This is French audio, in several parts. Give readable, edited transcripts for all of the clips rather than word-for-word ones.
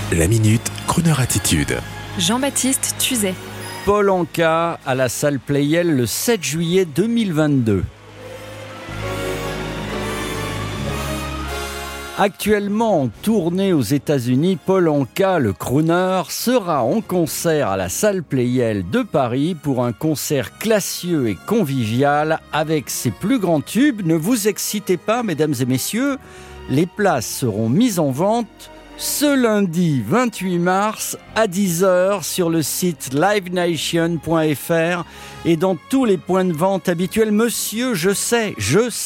La Minute, Crooner Attitude. Jean-Baptiste Tuzet. Paul Anka à la salle Pleyel le 7 juillet 2022. Actuellement en tournée aux États-Unis, Paul Anka, le crooner, sera en concert à la salle Pleyel de Paris pour un concert classieux et convivial avec ses plus grands tubes. Ne vous excitez pas, mesdames et messieurs, les places seront mises en vente ce lundi 28 mars à 10h sur le site livenation.fr et dans tous les points de vente habituels. Monsieur, je sais,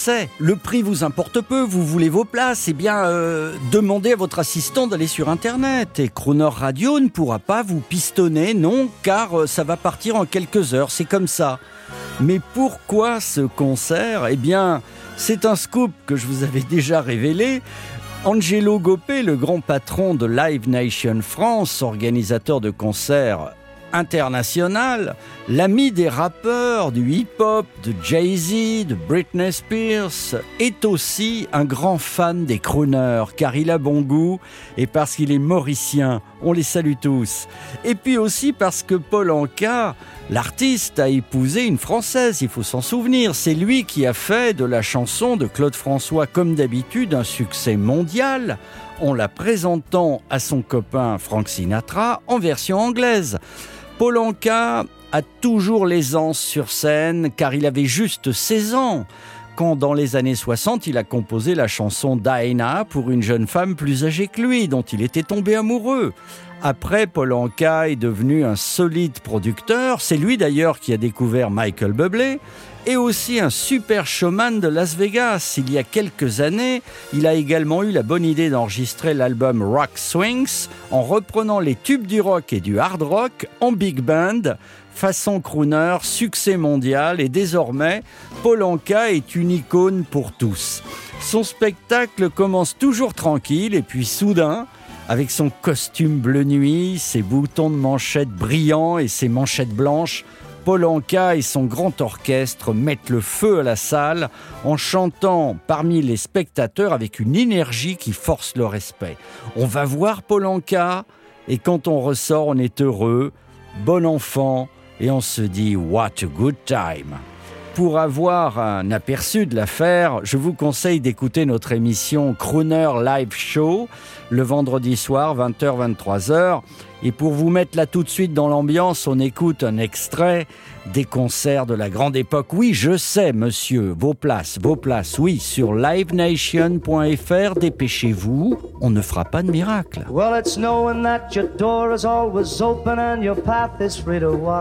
le prix vous importe peu, vous voulez vos places, demandez à votre assistant d'aller sur Internet. Et Crooner Radio ne pourra pas vous pistonner, non, car ça va partir en quelques heures, c'est comme ça. Mais pourquoi ce concert ? C'est un scoop que je vous avais déjà révélé. Angelo Gopé, le grand patron de Live Nation France, organisateur de concerts international, l'ami des rappeurs, du hip-hop, de Jay-Z, de Britney Spears, est aussi un grand fan des crooners, car il a bon goût et parce qu'il est mauricien. On les salue tous. Et puis aussi parce que Paul Anka, l'artiste, a épousé une Française, il faut s'en souvenir. C'est lui qui a fait de la chanson de Claude François, comme d'habitude, un succès mondial, en la présentant à son copain Frank Sinatra en version anglaise. Paul Anka a toujours l'aisance sur scène, car il avait juste 16 ans quand, dans les années 60, il a composé la chanson Dinah pour une jeune femme plus âgée que lui, dont il était tombé amoureux. Après, Paul Anka est devenu un solide producteur. C'est lui d'ailleurs qui a découvert Michael Bublé et aussi un super showman de Las Vegas. Il y a quelques années, il a également eu la bonne idée d'enregistrer l'album Rock Swings en reprenant les tubes du rock et du hard rock en big band, façon crooner, succès mondial, et désormais, Paul Anka est une icône pour tous. Son spectacle commence toujours tranquille et puis soudain, avec son costume bleu nuit, ses boutons de manchette brillants et ses manchettes blanches, Paul Anka et son grand orchestre mettent le feu à la salle en chantant parmi les spectateurs avec une énergie qui force le respect. On va voir Paul Anka et quand on ressort, on est heureux, bon enfant et on se dit « What a good time ». Pour avoir un aperçu de l'affaire, je vous conseille d'écouter notre émission Crooner Live Show le vendredi soir, 20h-23h. Et pour vous mettre là tout de suite dans l'ambiance, on écoute un extrait des concerts de la grande époque. Oui, je sais, monsieur, vos places, oui, sur livenation.fr. Dépêchez-vous, on ne fera pas de miracle. Well, it's knowing that your door is always open and your path is free to walk.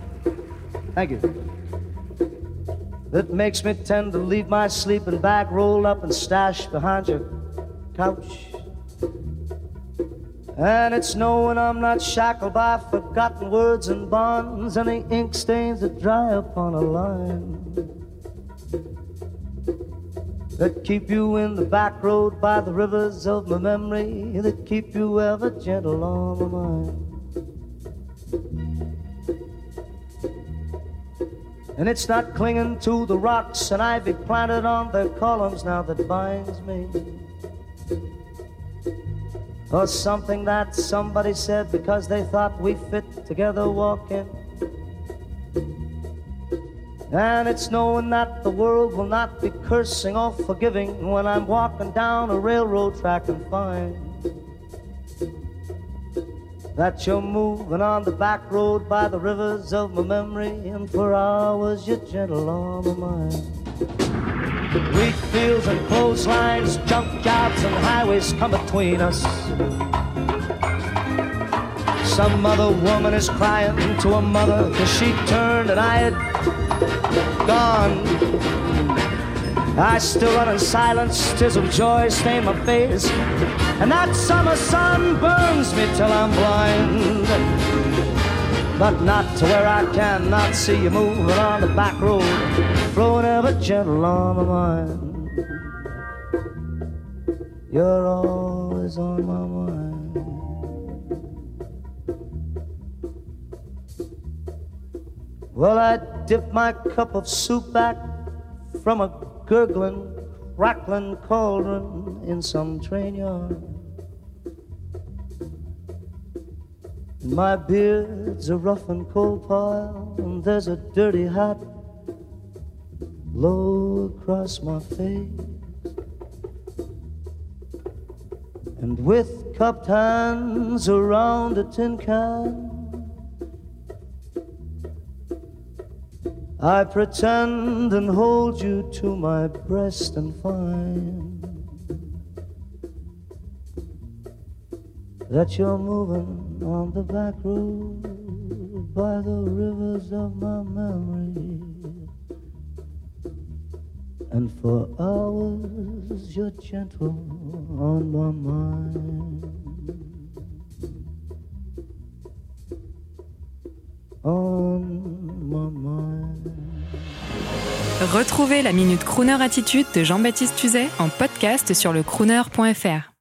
Thank you. That makes me tend to leave my sleeping bag rolled up and stashed behind your couch. And it's knowing I'm not shackled by forgotten words and bonds, any ink stains that dry upon a line, that keep you in the back road by the rivers of my memory, that keep you ever gentle on my mind. And it's not clinging to the rocks and ivy planted on their columns now that binds me, or something that somebody said because they thought we fit together walking. And it's knowing that the world will not be cursing or forgiving when I'm walking down a railroad track and find that you're moving on the back road by the rivers of my memory, and for hours you're gentle on my mind. Wheat fields and clotheslines, junkyards and highways come between us. Some other woman is crying to her mother 'cause she turned and I had gone. I still run in silence, tears of joy stain my face, and that summer sun burns me till I'm blind. But not to where I cannot see you moving on the back road, flowing ever gentle on my mind. You're always on my mind. Well, I dip my cup of soup back from a gurgling, crackling cauldron in some train yard. My beard's a rough and coal pile, and there's a dirty hat low across my face. And with cupped hands around a tin can, I pretend and hold you to my breast and find that you're moving on the back road by the rivers of my memory. And for hours you're gentle on my mind, on my mind. Retrouvez la Minute Crooner Attitude de Jean-Baptiste Tuzet en podcast sur lecrooner.fr.